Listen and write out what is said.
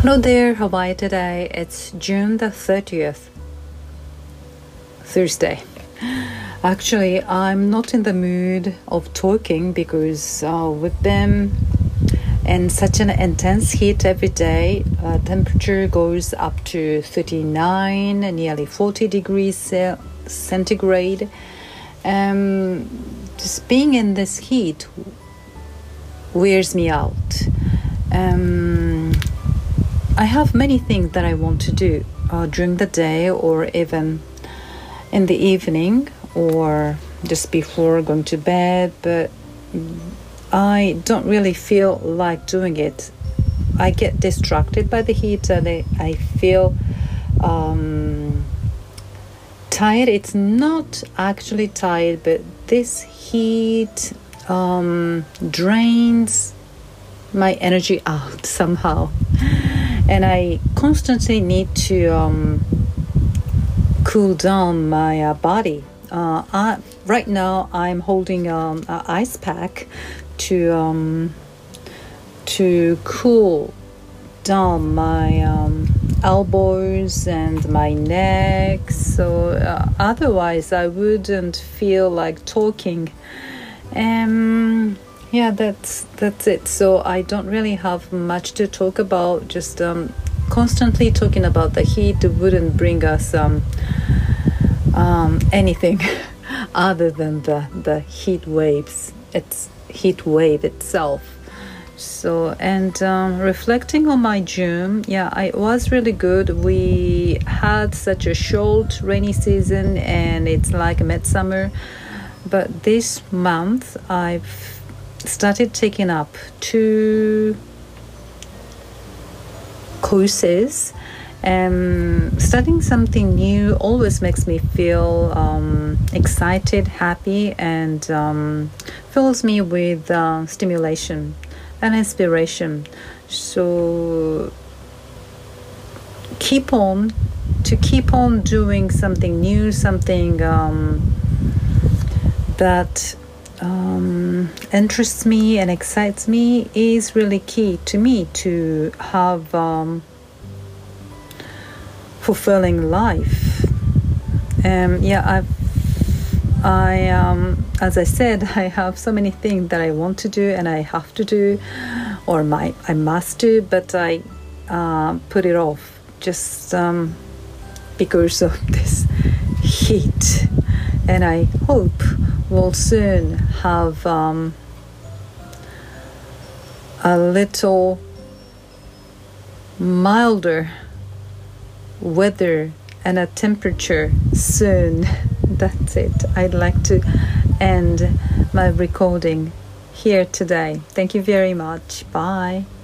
Hello there, how are you today? It's June the 30th, Thursday. Actually, I'm not in the mood of talking because we've been in such an intense heat every day. Temperature goes up to 39, nearly 40 degrees centigrade. Just being in this heat wears me out. I have many things that I want to do during the day or even in the evening or just before going to bed, but I don't really feel like doing it. I get distracted by the heat and I feel tired. It's not actually tired, but this heat drains my energy out somehow. And I constantly need to cool down my body. Right now, I'm holding an ice pack to cool down my elbows and my neck. So otherwise, I wouldn't feel like talking. Yeah, that's it. So I don't really have much to talk about. Just constantly talking about the heat wouldn't bring us anything other than the heat waves. It's heat wave itself. So and reflecting on my June, yeah, it was really good. We had such a short rainy season, and it's like midsummer. But this month, I've started taking up 2 courses. Studying something new always makes me feel excited, happy, and fills me with stimulation and inspiration. So keep on doing something new, something that interests me and excites me is really key to me to have fulfilling life. As I said, I have so many things that I want to do and I have to do, or I must do, but I put it off just because of this heat. And I hope we'll soon have a little milder weather and a temperature soon. That's it. I'd like to end my recording here today. Thank you very much. Bye.